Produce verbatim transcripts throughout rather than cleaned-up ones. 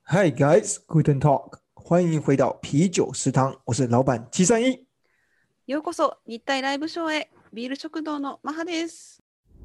Hi guys, Guten Talk， 歡迎回到啤酒食堂，我是老闆七三一。 ようこそ日体ライブショーへ、ビール食堂のマハです。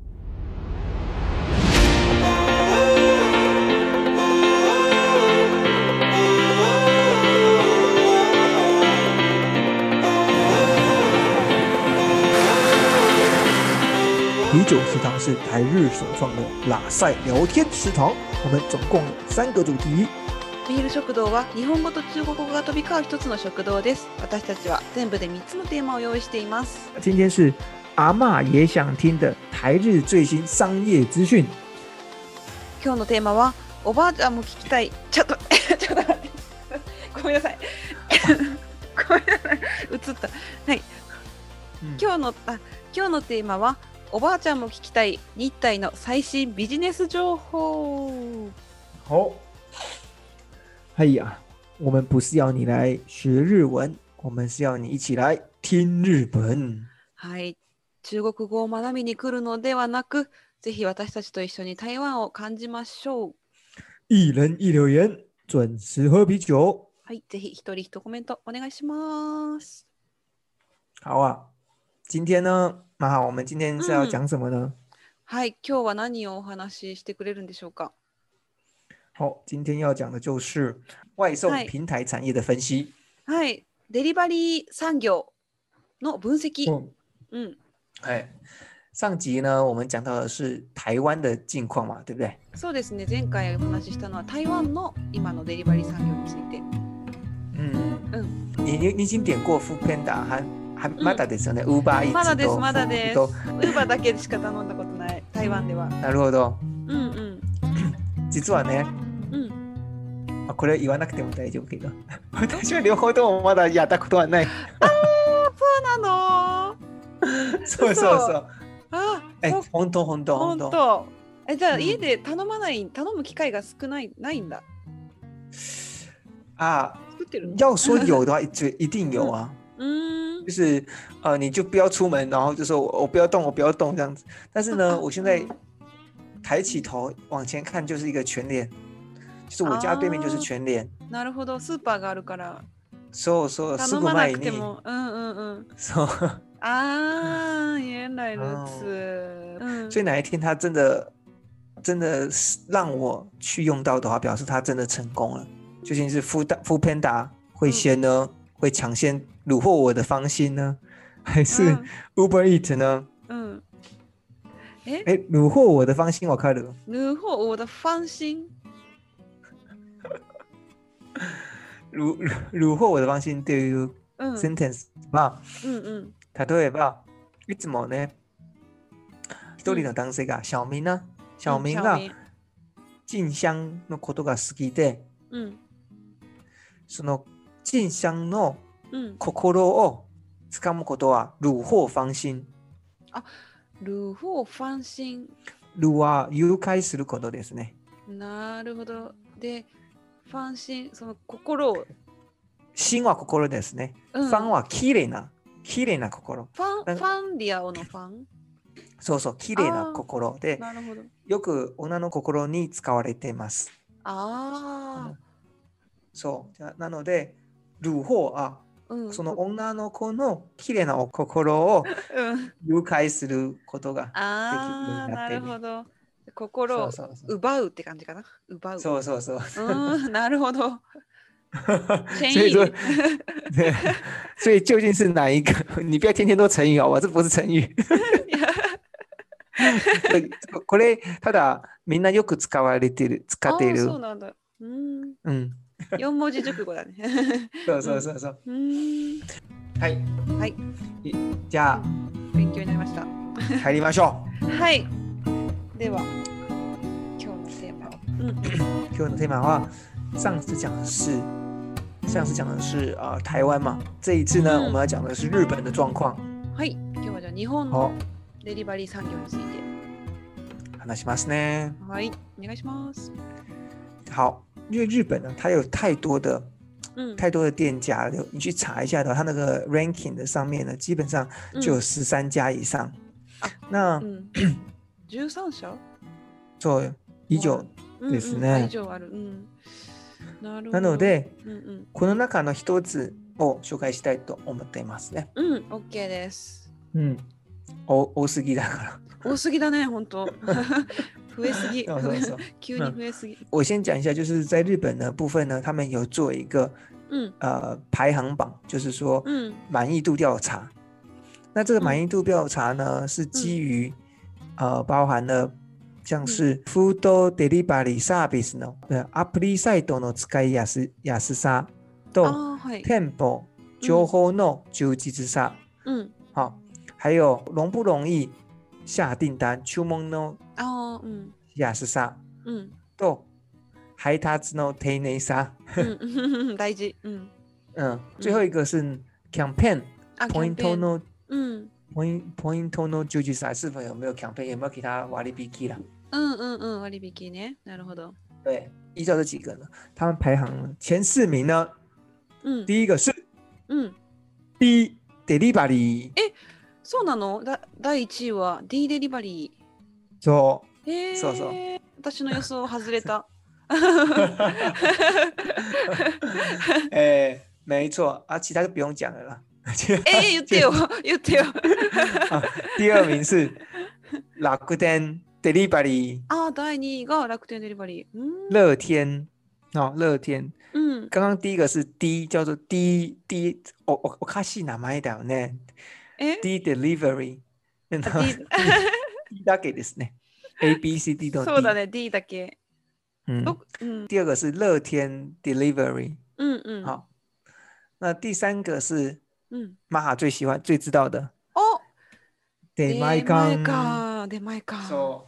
啤酒食堂是台日首創的拉塞聊天食堂，我們總共有三個主題。 ビール食堂は日本語と中国語が飛び交う一つの食堂です。私たちは全部でみっつのテーマを用意しています。 今天是阿嬷也想聽的台日最新商業資訊。 今日のテーマはおばあちゃんも聞きたい。ちょっとちょっと待ってごめんなさいごめんなさい映ったはい、うん、今日のあ今日のテーマはおばあちゃんも聞きたい日体の最新ビジネス情報。 好，哎呀，我們不是要你來學日文，我們是要你一起來聽日本。 はい、中國語を學びに来るのではなく、ぜひ私たちと一緒に台灣を感じましょう。 一人一留言，準時喝啤酒。 はい、ぜひ一人一コメントお願いします。 好啊，今天呢，馬哈，我們今天是要講什麼呢？ 嗯、はい、今日は何をお話ししてくれるんでしょうか。 好，今天要講的就是外送平台產業的分析。 はい、デリバリー産業の分析。 嗯，嗯，哎，上集呢，我們講到的是台灣的近況嘛，對不對？ そうですね。前回お話ししたのは台灣の今のデリバリー産業について。 嗯嗯，你你你已經點過 Foodpanda 還還まだですよね。Uber Eats まだですまだです。Uber だけしか頼んだことない台湾では。 なるほど。 うんうん。 実はね。 うん。 これ言わなくても大丈夫けど私は両方ともまだやったことはない。 あー、そうなのそうそうそう。 あえ、本当本当本当。え、じゃあ家で頼まない、うん、頼む機会が少ないないんだ。 啊，要說有的話就一定有啊。嗯，就是呃，你就不要出門，然後就說我我不要動，我不要動這樣子。但是呢，我現在抬起頭往前看，就是一個全聯。就是我家對面就是全聯。 なるほど、スーパーがあるから。 そうそう、すぐ前に。 うんうんうん。 そう。 啊，原來如此。 嗯，所以哪一天他真的真的讓我去用到的話，表示他真的成功了。究竟是 Foodpanda 會先呢，嗯、會搶先虜獲我的芳心呢，還是 Uber Eats 呢？嗯，哎哎，虜獲我的芳心，我看了。 虜獲我的芳心。 虜虜獲我的芳心っていう sentence は、うんうん、例えばいつもね一人の男性が小明な小明が静香のことが好きで、うん、その静香の心をつかむことは虜獲芳心。 あ、虜獲芳心。 虜は誘拐することですね。 なるほど。でファン心、その心を。 心は心ですね。うん、ファンは綺麗な、綺麗な心。 ファン、ファンリアオのファン？ そうそう、綺麗な心で、 なるほど。 よく女の心に使われています。 ああ、うん。 そう。なので、ルホは、うん、その女の子の綺麗な心を誘拐することができるようになっている。 なるほど。心を奪うって感じかな。奪う。 そうそうそう。 うん、なるほど。 所以說，所以究竟是哪一個？你不要天天都成語好吧？這不是成語。これただみんなよく使われてる、使っている。 そうなんだ。うん。うん。四文字熟語だね。 そうそうそうそう。うん。はい。 はい。 じゃあ勉強になりました。 入りましょう。はい。では今日のテーマ、嗯、 今日のテーマは上次講的是上次講的是、呃、台灣嘛，這一次呢、嗯、我們要講的是日本的狀況。 はい、今日はじゃあ日本のデリバリー産業について話しますね。 はい、お願いします。 好，因為日本呢它有太多的、嗯、太多的店家，你去查一下的話，它那個 ranking 的上面呢基本上就有十三家以上、嗯、那、嗯じゅうさん社？ そう、以上ですね。 以上ある。うん。 なので、うんうん、この中の一つを紹介したいと思っていますね。 うん、OK です。 うん。お多すぎだから。 多すぎだね、本当。増えすぎ。そうそうそう急に増えすぎ、嗯。 我先講一下，就是在日本的部分呢，他們有做一個，嗯，呃，排行榜，就是說，嗯，滿意度調查。那這個滿意度調查呢，嗯、是基於、嗯，呃，包含了像是 food delivery service の、嗯、アプリサイトの使いやすやすさと、店舗情報の充実さ、嗯，好，還有容不容易下訂單、注文の哦，嗯。 安さ、うん、と配達の丁寧さ、 うん、大事、うんうん、最後一個是キャンペーン、ポイントの、うん、ポインポイントの充実さ、是否有沒有キャンペーン，有沒有其他割引啦？ 嗯嗯嗯，割引ね，なるほど。 對，依照這幾個呢，他們排行前四名呢，嗯，第一個是，嗯 ，D Delivery。 え、そうなの？だ第一位は D デリバリー。 そう。 えー、 そうそう。 私の予想外れた。 えー、沒錯啊，其他就不用講了啦。 哎，言ってよ、言ってよ。 第二名是楽天 Delivery。啊， 第二が楽天 Delivery。 樂天，哦，樂天。 嗯， 剛剛第一個是 D，叫做 D D，おおおかしい名前だよね。D Delivery。D だけですね。A B C D 都 D。 そうだね、D だけ。 嗯，嗯第二個是樂天 Delivery。嗯嗯。好，那第三個是，嗯，マハ最喜歡、最知道的。 哦。 出前館。 出前館。 そう。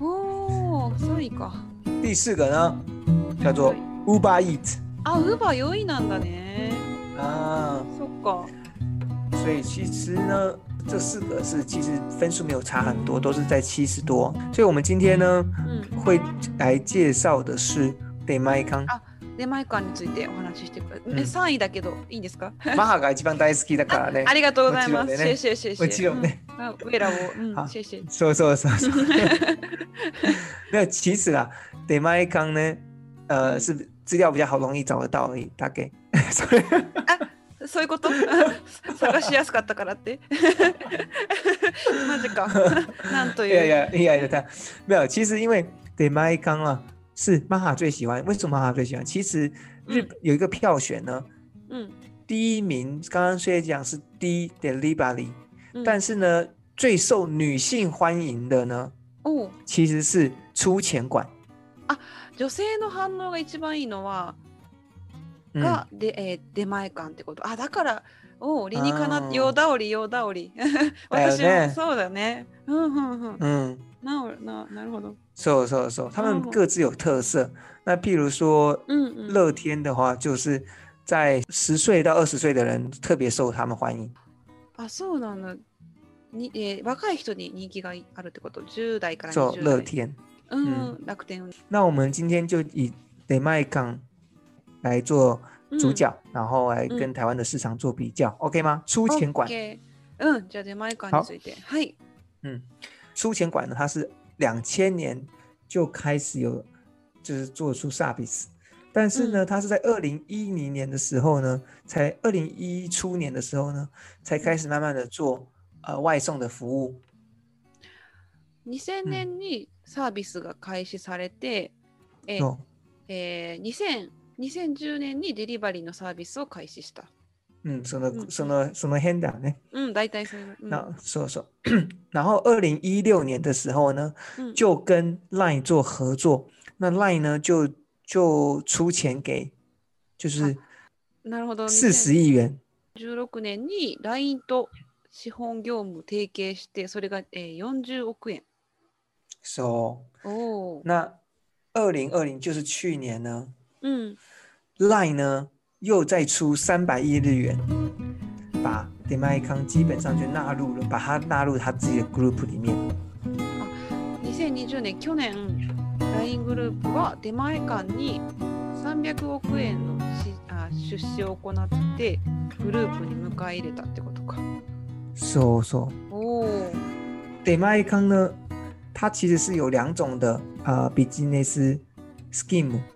おー、そういか。 第四個呢，叫做 Uber Eats。 あ、Uber よいなんだね。 啊。 そっか。 所以其實呢。這四個是其實分數沒有差很多，都是在七十多。所以我們今天呢，嗯、會來介紹的是出前館。 あ、出前館についてお話ししてくれ。うん、さんいだけどいいんですか？ マハが一番大好きだからね。 あ, ありがとうございます。謝謝謝謝。 もちろんね。 嗯、ウェラを、うん、謝謝。 そうそうそうそう。沒有，其實啦，出前館呢，呃，是資料比較好，容易找得到而已，大概。所以。 そういうこと探しやすかったからってマジかなんという。 いやいやいやいや，沒有，其實因為出前館啊是マハ最喜歡。為什麼マハ最喜歡？其實日本有一個票選呢，嗯，第一名剛剛雖然講是 D Delivery，嗯，但是呢最受女性歡迎的呢，哦，其實是出前館。 あ、女性の反応が一番いいのはが、うんでえー、出前館ってこと。あ、だからお理にかなようだおりようだおり私もそうだね。うんうんうん。うんなななるほど。 そうそうそう。他們各自有特色。那譬如說，嗯嗯，樂天的話，就是在十歲到二十歲的人特別受他們歡迎。 あ、そうなんだ。に、えー、若い人に人気があるってこと。十代から二十代。 そう、樂天。 うん、嗯、楽天。 那我們今天就以出前館來做主角、嗯、然後來跟台灣的市場做比較、嗯、OK 嗎？出前館 OK 嗯，じゃあ出前館についてはい嗯，出前館呢它是兩千年就開始有就是做出 service 但是呢、嗯、它是在二零一零年的時候呢才二零一一初年的時候呢才開始慢慢的做、呃、外送的服務にせんねんにサービスが開始されて、うん、え、えー、にせんにせんじゅうねんにデリバリーのサービスを開始した。 うん、その、うん、その、その辺だね。 うん、大体そういう。 那、嗯、そうそう。然後二零一六年的時候呢、嗯，就跟 LINE 做合作。那 LINE 呢，就就出錢給，就是四十億元。 じゅうろくねんに ライン と資本業務提携して、それが、えー、よんじゅうおくえん。 そう。 哦。 那二零二零就是去年呢。 嗯 ，LINE 呢又再出三百億日元，把出前館基本上就納入了，把它納入它自己的 group 裡面。 あ、にせんにじゅうねん去年 ライン グループは出前館にさんびゃくおくえんのしあ出資を行ってグループに迎え入れたってことか。 そうそう。 哦， 出前館呢，它其實是有兩種的呃 business scheme。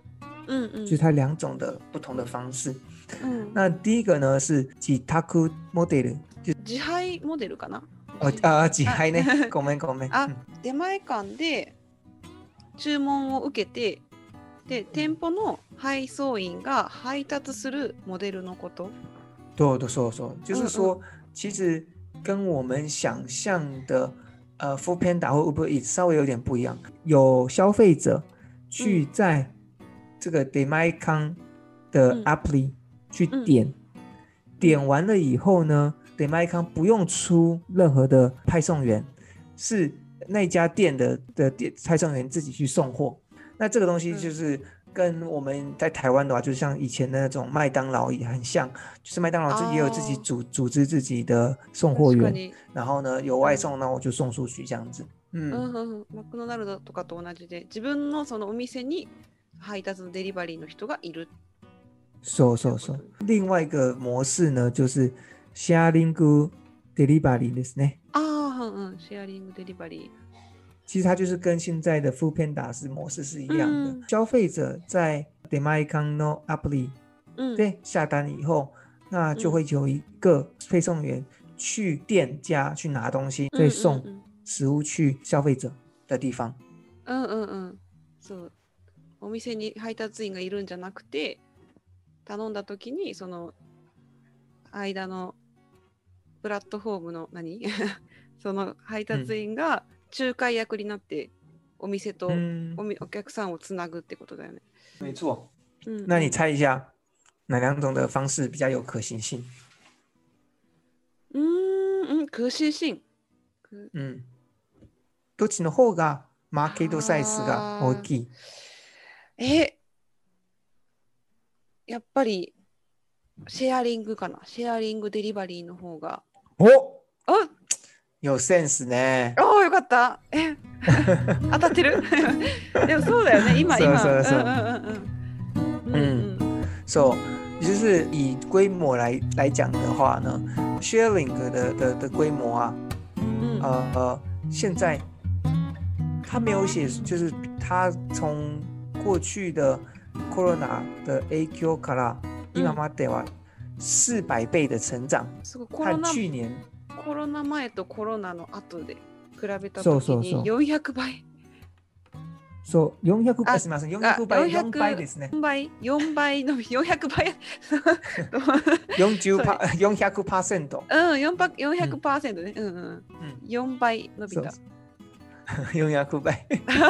嗯嗯， 就是它兩種的不同的方式。嗯，那第一個呢是自宅モデル，就自配モデルかな？ 哦啊，自配ね。ごめんごめん。 あ、出前館で注文を受けて、で店舗の配送員が配達するモデルのこと。 对对，そうそう，就是說，嗯嗯其實跟我們想象的呃 Foodpanda 或 Uber Eats 稍微有點不一樣，有消費者去在這個出前館的 Appli 去點，嗯嗯、點完了以後呢，出前館不用出任何的派送員，是那家店的的店派送員自己去送貨。那這個東西就是跟我們在台灣的話，就像以前的那種麥當勞也很像，就是麥當勞自己也有自己組、哦、組織自己的送貨員，然後呢有外送，那我就送出去這樣子。嗯， 嗯マクドナルドとかと同じで、自分のそのお店に配達のデリバリーの人がいる。 そうそうそう。另外一個模式呢，就是シェアリングデリバリーですね。 ああ、うん、シェアリングデリバリー。 其實它就是跟現在的 Foodpanda 是模式是一樣的。嗯、消費者在出前館のアプリ對下單以後，那就會有一個配送員去店家去拿東西，再送食物去消費者的地方。 うんうんうん。そう。お店に配達員がいるんじゃなくて、頼んだ時にその間のプラットフォームの何その配達員が、うん仲介役になってお店と お, お客さんをつなぐってことだよね。 沒錯。嗯，那你猜一下哪兩種的方式比較有可行性？ 嗯嗯，可行性。 嗯，どっちの方がマーケットサイズが大きい？ え、やっぱりシェアリングかな。シェアリングデリバリーの方が。 おお有センスね。 おーよかった。え当たってるでもそうだよね。今今。 そうそうそう。嗯，so 就是以規模來來講的話呢 ，sharing 的的的規模啊，嗯、呃呃，現在他沒有寫，就是他從過去的 corona 的影響から今までは四百倍的成長，和去年。 コロナ前とコロナの後で比べたときによんひゃくばい。 そう、よんひゃくばい、すみません、よんひゃくばい、よんばいですね。 よんばい、よんばいのよんひゃくばい。 よんじゅうパーセント。よんひゃくパーセント。 うん、よんひゃくパーセントね。うんうん。よんばい伸びた。 よんひゃくばい。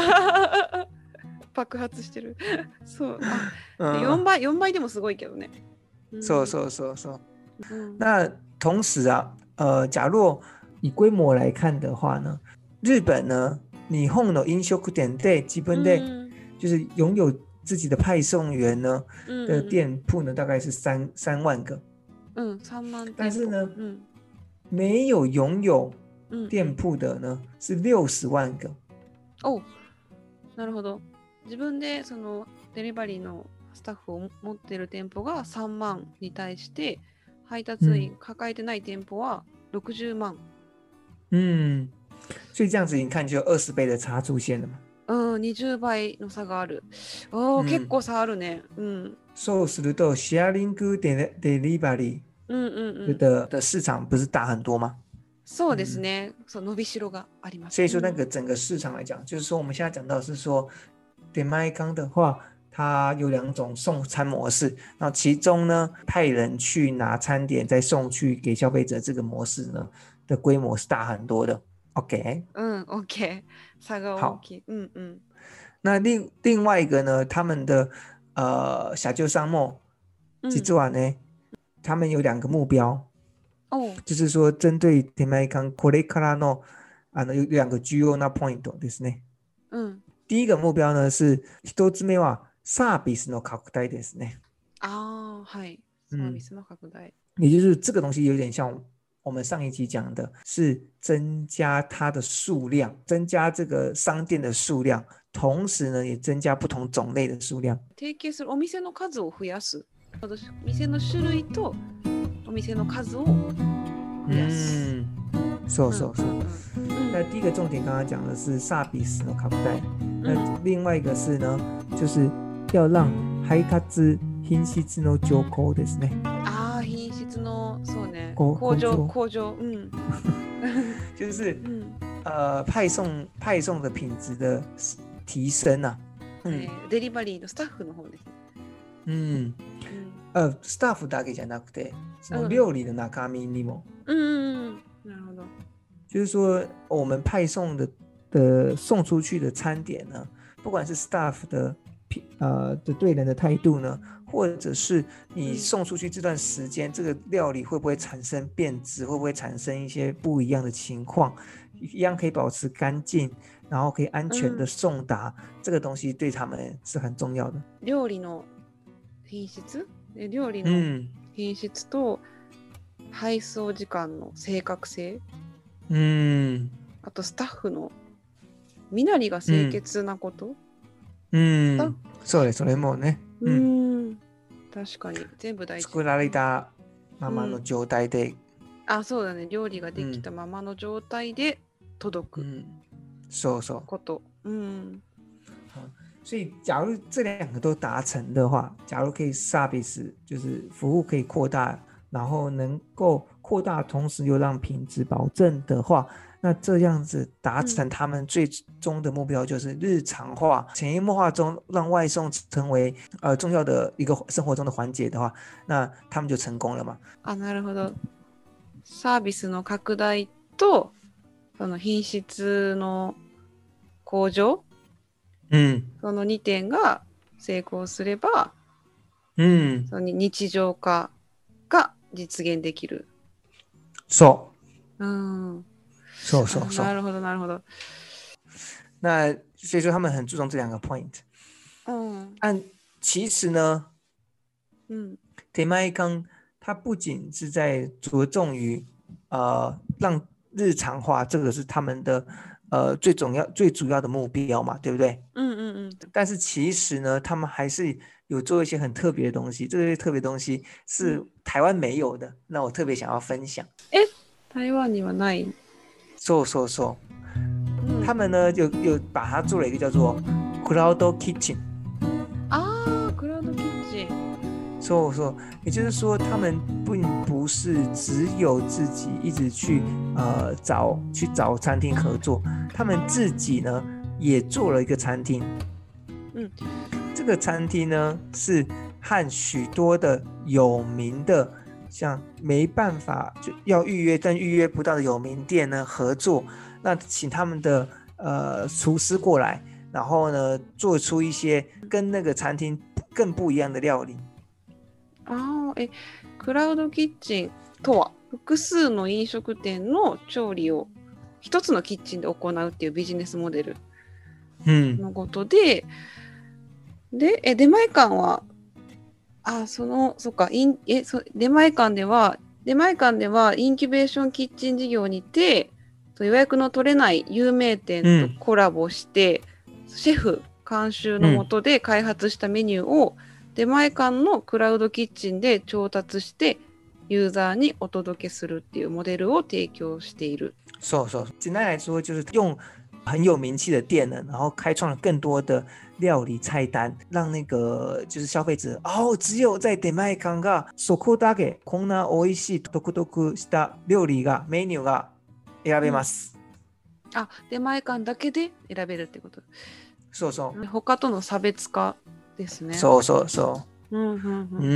爆発してる。そう。あ、よんばい、よんばいでもすごいけどね。 そうそうそうそう。那同時啊。呃，假若以規模來看的話呢，日本呢，日本の飲食店で基本的就是擁有自己的派送員呢、嗯、的店鋪呢，大概是三三萬個。 嗯，三萬。 但是呢，嗯，沒有擁有店鋪的呢、嗯、是六十萬個。 哦，なるほど。自分でそのデリバリーのスタッフを持っている店舗がさんまんに対して。配達員抱えてない店舗はろくじゅうまん。 嗯，所以這樣子你看就有二十倍的差出現了嘛。 うん、にじゅうばいの差がある。おー、うん、結構差あるね。うん。 そうするとシェアリングデリバリー的的市場不是大很多嗎？ そうですね。そう伸びしろがあります。 所以說那個整個市場來講，嗯、就是說我們現在講到是說出前館的話。它有兩種送餐模式，然後其中呢，派人去拿餐點再送去給消費者這個模式呢的規模是大很多的。OK， 嗯 ，OK， 差個大きい，嗯嗯。 那另另外一個呢，他們的呃社長さんも実は呢、嗯，他們有兩個目標，哦，就是說針對出前館これからのあの有兩個重要なポイントですね。嗯，第一個目標呢是一つ目はサービスの拡大ですね。 啊，はい。サービスの拡大。 也就是這個東西有點像我們上一集講的，是增加它的數量，增加這個商店的數量，同時呢也增加不同種類的數量。 提携するお店の數を増やす。店の種類とお店の數を増やす。 嗯，そうそうそう。那第一個重點剛剛講的是サービスの拡大，那另外一個是呢，就是要讓配達品質の上降ですね。 ああ、品質のそうね。向上向上，嗯， 就是、嗯、呃派送派送的品質的提升啊。 嗯、デリバリーのスタッフの方です。 うん。呃、スタッフだけじゃなくて、その料理的中身にも。 嗯嗯嗯，なるほど。 就是說，我們派送的的送出去的餐點呢，不管是 staff 的呃的對人的態度呢，或者是你送出去這段時間，嗯、這個料理會不會產生變質，會不會產生一些不一樣的情況，一樣可以保持乾淨，然後可以安全的送達，嗯、這個東西對他們是很重要的。 料理の品質、料理の品質と配送時間の正確性、うん、あとスタッフの身なりが清潔なこと、 うん、うん、そうです、それもね、 うん、うん、確かに全部大事。 作られたままの状態で、うん、 あ、そうだね、料理ができたままの状態で届く、うん、そうそうこと、うん。 所以假如這兩個都達成的話，假如可以 service 就是服務可以擴大，然後能夠擴大同時又讓品質保證的話，那這樣子達成他們最終的目標就是日常化、潛移默化中讓外送成為呃重要的一個生活中的環節的話，那他們就成功了嘛。 あ、なるほど。サービスの拡大とその品質の向上、うん、そのにてんが成功すれば、うん、その日常化が実現できる。 そう。 うん。 そうそうそう。 なるほどなるほど。 那所以說他們很注重這兩個 point。嗯。但其實呢，嗯，出前館它不僅是在着重於呃讓日常化，這個是他們的。呃，最重要、最主要的目標嘛，對不對？嗯嗯嗯。但是其實呢，他們還是有做一些很特別的東西。這些特別的東西是台灣沒有的，那我特別想要分享。 哎，台灣にはない。 そうそうそう。他們呢，就有把它做了一個叫做 Cloud Kitchen。 啊 ，Cloud Kitchen。 そうそう。也就是說，他們並不是只有自己一直去呃找去找餐廳合作，他們自己呢也做了一個餐廳。嗯，這個餐廳呢是和許多的有名的，像沒辦法就要預約但預約不到的有名店呢合作，那請他們的呃廚師過來，然後呢做出一些跟那個餐廳更不一樣的料理。 あえクラウドキッチンとは複数の飲食店の調理を一つのキッチンで行うっていうビジネスモデルのことで、うん、でえ出前館はあそのそっかインえそ出前館では出前館ではインキュベーションキッチン事業にて予約の取れない有名店とコラボして、うん、シェフ監修の下で開発したメニューを、うん出前館のクラウドキッチンで調達してユーザーにお届けするっていうモデルを提供している。 そうそう。簡單來說，就是用很有名氣的店呢，然後開創了更多的料理菜單，讓那個就是消費者哦，只有在出前館がそこだけこんな美味しい独特した料理がメニューが選べます。 うん、あ、出前館だけで選べるってこと。 そうそう。 他との差別化。ですね。 そうそうそう。うんうんうん。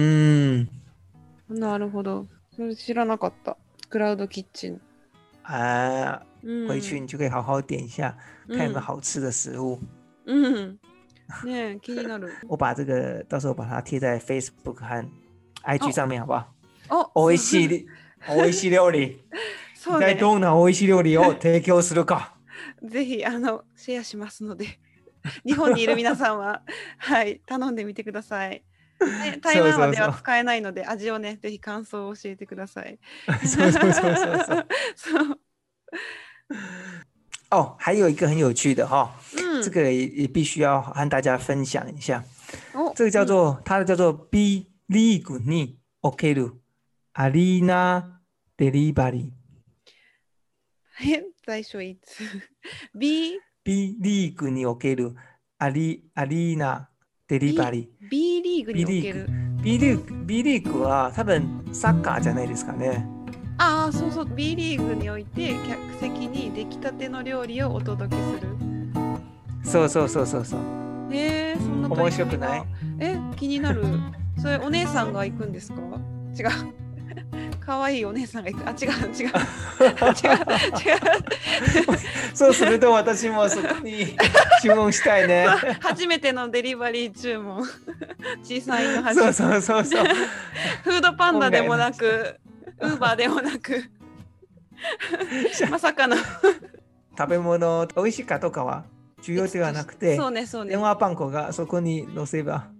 うん。 なるほど。それ知らなかった。クラウドキッチン。 啊，回去你就可以好好點一下，嗯、看有沒有好吃的食物。 嗯，ね、気になる。 我把這個到時候把它貼在 Facebook 和 I G 上面，好不好？ 哦， おいしい、おいしい料理。一体どんなおいしい料理を提供するか。 ぜひあのシェアしますので。日本にいる皆さんは、はい、頼んでみてください。ね、台湾までは使えないので、味をね、ぜひ感想を教えてください。 そうそうそうそうそう。そう哦，還有一個很有趣的哈、哦，嗯，這個也也必須要和大家分享一下。哦，這個叫做、嗯、它的叫做 B リーグにおけるアリーナデリバリー。 え、最初いつ ？B B リーグにおけるアリ、アリーナデリバリー。 B リリーグにおける B リーグ B リーグは多分サッカーじゃないですかね。 ああ、そうそう、 B リーグにおいて客席に出来たての料理をお届けする。 そうそうそうそうそう。 へえ、そんな面白くない？ え、気になる。それお姉さんが行くんですか？違う。可愛いお姉さんが行く。あ、違う違う違う違う。 そうすると私もそこに注文したいね。 初めてのデリバリー注文。小さいの初めて。そうそうそうそう。 フードパンダでもなく、ウーバーでもなく、まさかの食べ物美味しいかとかは重要ではなくて、 そうねそうね、 電話番号がそこに載せば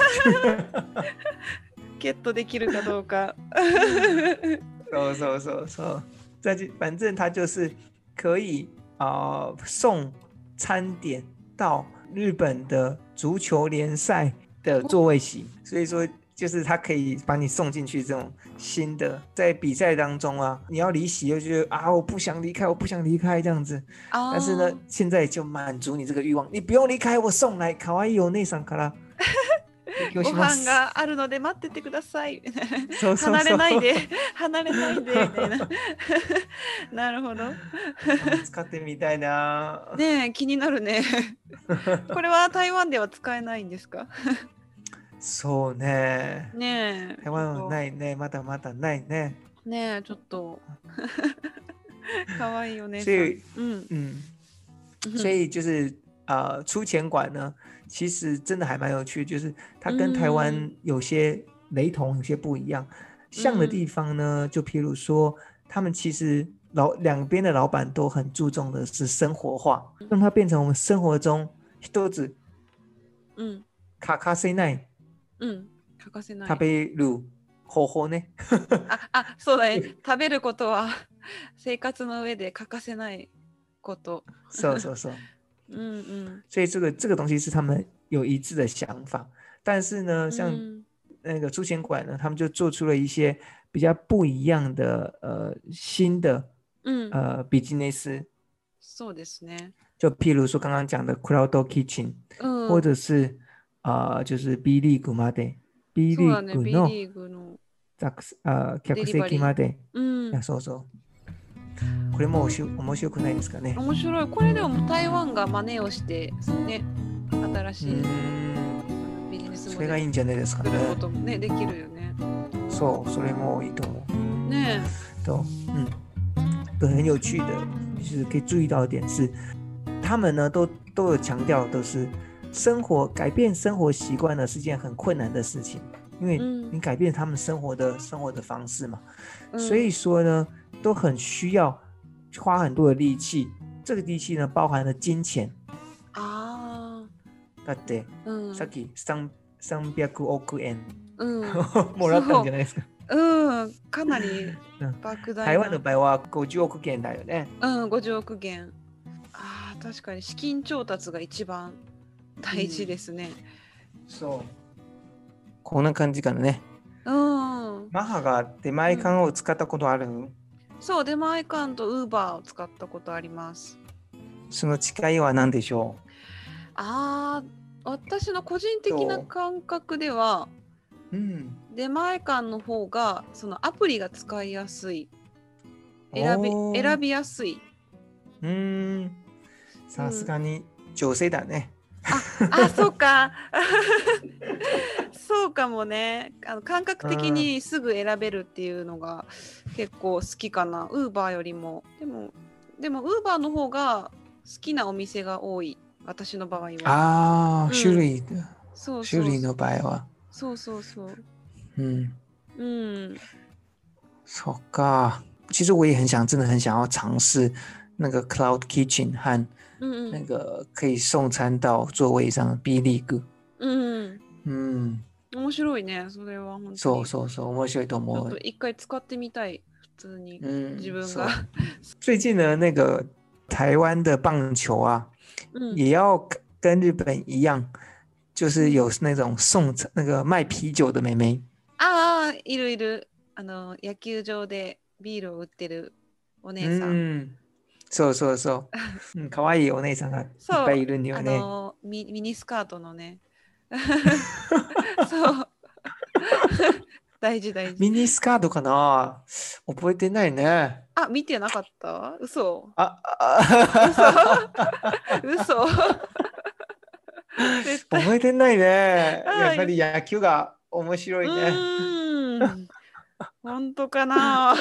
ゲットできるかどうか。 そうそうそうそう。反正它就是可以、呃、送餐點到日本的足球聯賽的座位席，所以說就是它可以把你送進去這種新的，在比賽當中啊，你要離席就覺得啊我不想離開，我不想離開這樣子。Oh. 但是呢，現在就滿足你這個慾望，你不用離開，我送來可愛いお姉さんからご飯があるので待っててください。そうそうそう、離れないで離れないでみたいな。なるほど。 使ってみたいな。 ねえ、気になるね。これは台湾では使えないんですか？ そうね。 ねえ。 台湾はないね。まだまだないね。 ねえ、ちょっと。かわいいよね。 所以、 嗯嗯。所以就是、呃、出前館呢。其實真的還蠻有趣，就是它跟台灣有些雷同，有些不一樣。像的地方呢，就譬如說，他們其實老兩邊的老闆都很注重的是生活化，讓它變成我們生活中一つ、 嗯， 欠かせない、 嗯，欠かせない、 食べる方法ね。 あ、あ、そうだね。食べることは生活の上で欠かせないこと。 そうそうそう。 嗯嗯， 所以這個這個東西是他們有一致的想法，但是呢，像那個出前館呢，他們就做出了一些比較不一樣的呃新的嗯呃ビジネス。 そうですね。 就譬如說剛剛講的 Cloud Kitchen，嗯，或者是呃就是 B リーグまで B リーグの呃客席まで、うん、いやそうそう。これも面白くないですかね。 面白い。これでも台湾が真似をしてね、新しいビジネスモデルそれがいいんじゃないですかね。 作ることもね、できるよね。 そう、それもいいと思う。 ねえ。と、嗯，对，很有趣的，就是可以注意到一點是，他們呢都都有強調，都是生活改變生活習慣呢是件很困難的事情，因為你改變他們生活的生活的方式嘛，嗯、所以說呢。都很需要花很多的力氣，這個力氣呢包含了金錢啊。だって、うん、さっきさんびゃくおくえん、うん、もらったんじゃないですか。 うん、かなり莫大な。 台湾の場合はごじゅうおくげんだよね。 うん、ごじゅうおくげん。ああ、確かに資金調達が一番大事ですね。 うん、そう。こんな感じかね。うん。マハが出前館を使ったことある？うん、 そう、出前館とウーバーを使ったことあります。 その違いは何でしょう？ ああ、私の個人的な感覚では、うん、出前館の方がそのアプリが使いやすい、選び選びやすい。 うーん、さすがに女性だね。 うん、ああ、そうか。そうかもね。あの感覚的にすぐ選べるっていうのが結構好きかな。ウーバーよりも。でも、でもウーバーの方が好きなお店が多い。私の場合は。 ああ、うん、種類。 そうそう。 種類の場合は。 そうそうそう。 うん。 うん。 そっか。其實我也很想，真的很想要嘗試那個 Cloud Kitchen 和那個可以送餐到座位上的 B リーグ。 うんうん。 面白いね、それは本当に。 そうそうそう、面白いと思う。 ちょっと一回使ってみたい、普通に、嗯、自分が。 最近呢，那個台灣的棒球啊，嗯、也要跟日本一樣，就是有那種送那個賣啤酒的妹妹。 ああ、いるいる。あの野球場でビールを売ってるお姉さん。うんそうそうそう。かわいいお姉さんがいっぱいいるんだよね。 あのミ、ミニスカートのね。 そう大事大事。 ミニスカートかな、覚えてないね。 あ、見てなかった？嘘。 ああ嘘嘘覚えてないね。やっぱり野球が面白いね。 うん、本当かな。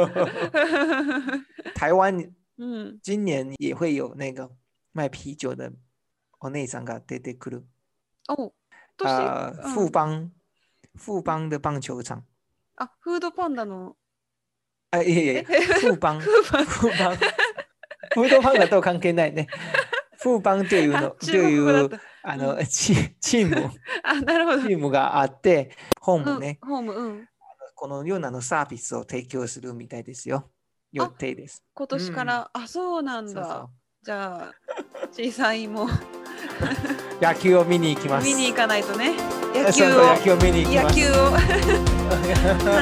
台湾、嗯、今年也会有那個賣啤酒的お姉さんが出てくる。 哦， 呃，富邦、富邦的棒球場。 あ、フードパンダの。 あ、いえいえ、富邦、富邦、フードパンダと関係ないね。富邦というの、というあの、うん、チ, チーム、 あ、なるほど。 チームがあって、ホームね、 うん、ホーム、うん、 このようなのサービスを提供するみたいですよ。予定です。 今年から、うん、あ、そうなんだ。そうそう、じゃあ、小さいも野球を見に行きます。 見に行かないとね。野球を、 野球を見に行きます。 野球を。はい。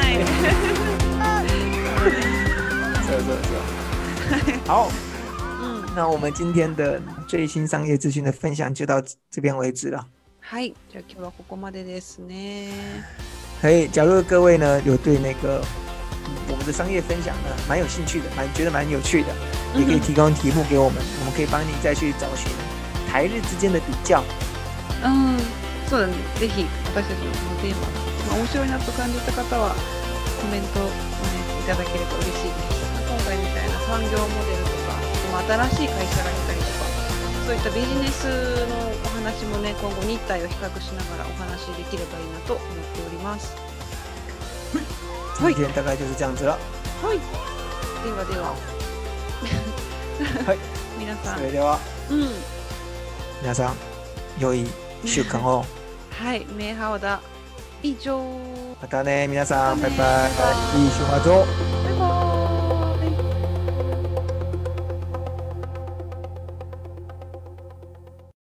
そうそうそう。好。那我們今天的最新商業資訊的分享就到這邊為止了。 はい、じゃあ今日はここまでですね。 可以，假如各位呢有對那個、嗯、我們的商業分享呢蠻有興趣的，蠻覺得蠻有趣的，也可以提供題目給我們，我們可以幫你再去找尋台日之間的比較。 うん、そうだね。ぜひ私たちのこのテーマ、面白いなと感じた方はコメントを、ね、いただければ嬉しいです。今回みたいな産業モデルとか、新しい会社がいたりとか、そういったビジネスのお話もね、今後日体を比較しながらお話しできればいいなと思っております。 はい、今天大概就是這樣子了。 はい。ではでは。 はい。 皆さん。 それでは。 うん。 皆さん、良い週間を。 はい、メイハオダ。以上。 またね、皆さん、バイバイ。いい週末を。